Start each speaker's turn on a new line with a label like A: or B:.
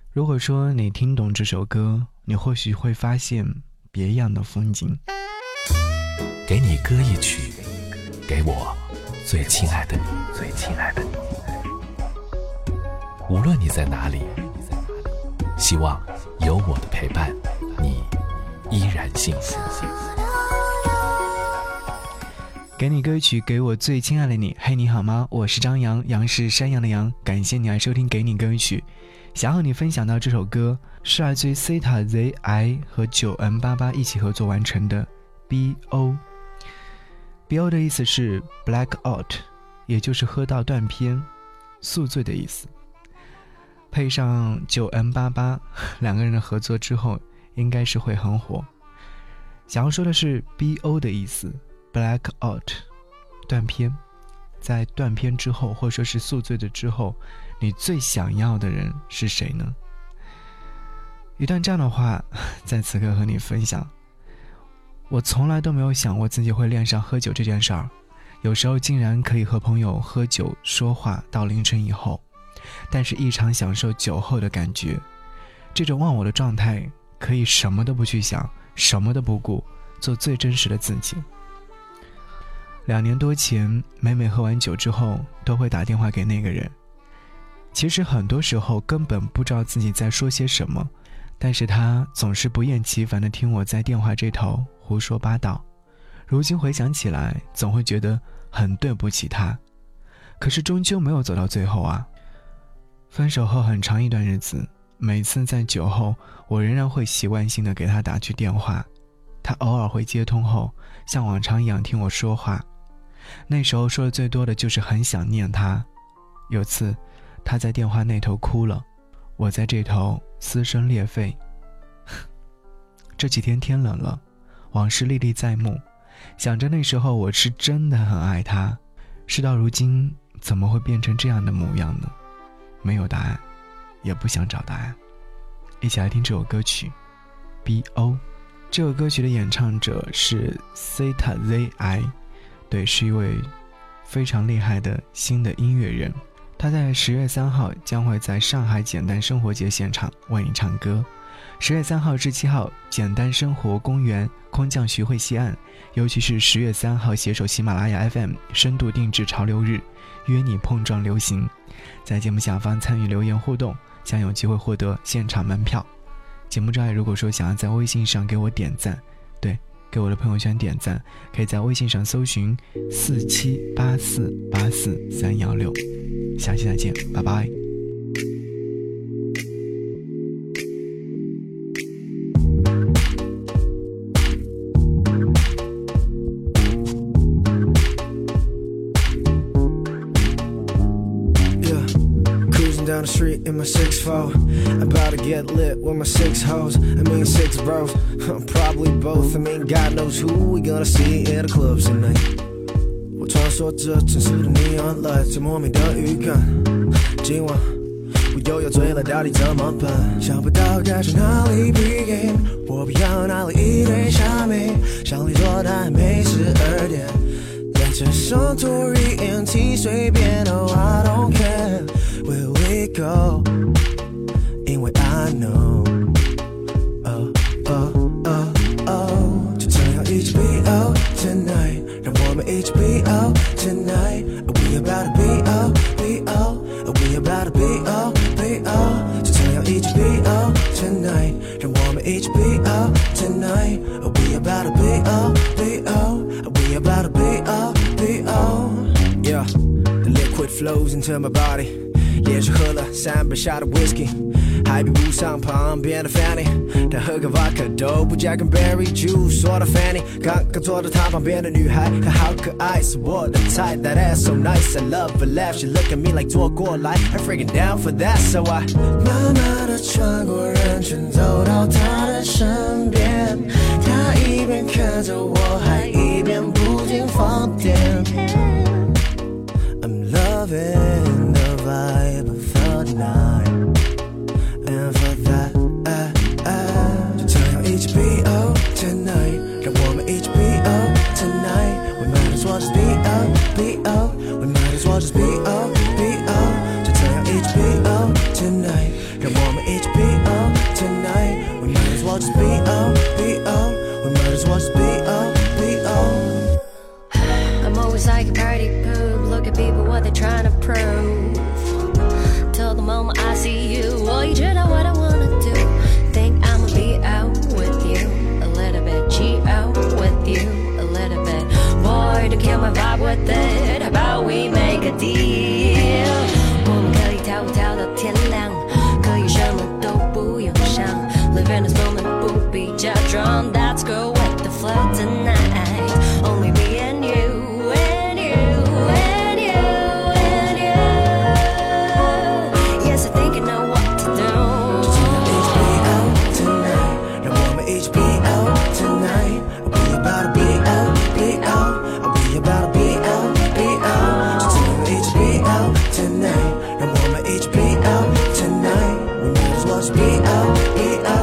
A: 如果说你听懂这首歌，你或许会发现别样的风景。
B: 给你歌一曲，给我最亲爱的你，最亲爱的你。无论你在哪里，希望有我的陪伴，你依然幸福。
A: 给你歌曲，给我最亲爱的你。嘿，你好吗？我是张扬，杨是山羊的羊。感谢你来收听给你歌曲。想和你分享到这首歌是来自于 Zeta ZI 和 9N88 一起合作完成的 BO。BO 的意思是 Black Out， 也就是喝到断片，宿醉的意思。配上 9N88 两个人的合作之后，应该是会很火。想要说的是 BO 的意思Black Out， 断片，在断片之后，或者说是宿醉的之后，你最想要的人是谁呢？一段这样的话在此刻和你分享。我从来都没有想过自己会恋上喝酒这件事儿，有时候竟然可以和朋友喝酒说话到凌晨以后，但是异常享受酒后的感觉。这种忘我的状态，可以什么都不去想，什么都不顾，做最真实的自己。2年多前，每喝完酒之后都会打电话给那个人。其实很多时候根本不知道自己在说些什么，但是他总是不厌其烦地听我在电话这头胡说八道。如今回想起来，总会觉得很对不起他，可是终究没有走到最后啊。分手后很长一段日子，每次在酒后，我仍然会习惯性地给他打去电话，他偶尔会接通后像往常一样听我说话。那时候说的最多的就是很想念他。有次他在电话那头哭了，我在这头撕声裂肺。这几天天冷了，往事历历在目，想着那时候我是真的很爱他，事到如今怎么会变成这样的模样呢？没有答案，也不想找答案。一起来听这首歌曲 BO。 这首歌曲的演唱者是 Zeta ZI， 对，是一位非常厉害的新的音乐人。他在10月3号将会在上海简单生活节现场为你唱歌。10月3号至7号，简单生活公园空降徐汇西岸，尤其是10月3号携手喜马拉雅 FM 深度定制潮流日，约你碰撞流行。在节目下方参与留言互动，将有机会获得现场门票。节目之外，如果说想要在微信上给我点赞，对，给我的朋友圈点赞，可以在微信上搜寻4784843116。下期再见，拜拜。
C: Down the street in my 6'4", about to get lit with my 6 hoes, 6 bros, probably both, God knows who we gonna see in the clubs tonight. 我穿梭着城市的 neon lights， 最莫名的预感，今晚我又要醉了，到底怎么办？想不到该从哪里 begin， 我不要哪里一堆虾米，想离座但还没12点，在车上 Tory NT 随便 ，Oh I don't care。Where we go? 因为 I know， 就这样一起 BO tonight， 让我们一起 BO tonight。We about to BO BO，We about to BO BO， 就这样一起 BO tonight， 让我们一起 BO tonight。We about to BO BO，We about to BO BO。Yeah，the liquid flows into my body。连续喝了3杯下的 whisky， 还比不上旁边的 Fanny， 但喝个 vodka 都不加根 berry juice。说到 Fanny， 刚刚坐在她旁边的女孩，她好可爱，是我的菜。That ass so nice, I love her laugh. She look at me like 坐过来 I'm freaking down for that, so I 慢慢地穿过人群，走到她的身边。她一边看着我，还一边不停放电。I'm loving the vibe of the night, and for that, 就这样一起 BO tonight， 让我们一起 BO tonight。 We might as well just BO BO， We might as well just BO BO， 就这样一起 BO tonight， 让我们一起 BO tonight. We might as well just be out, be out. We might as well just be out, be out.
D: I'm always like a party poop. Look at people, what they're trying to prove. Till the moment I see you, oh, you do know what I wanna do. Think I'ma be out with you a little bit, G out with you a little bit. Boy, to kill my vibe with it. How about we make a deal? 我们可以跳舞跳到天亮，可以什么都不用想。Live in this moment，不必假装。Let's go with the flow tonight. Only me and you, and you, and you, and you. Yes, I think I know what to do.
C: Each be out tonight. Now woman, each be out tonight. I'll be about to be out, be out. I'll be about to be out, be out. So each be out tonight. Now woman, each be out tonight. We might as well just be out, be out.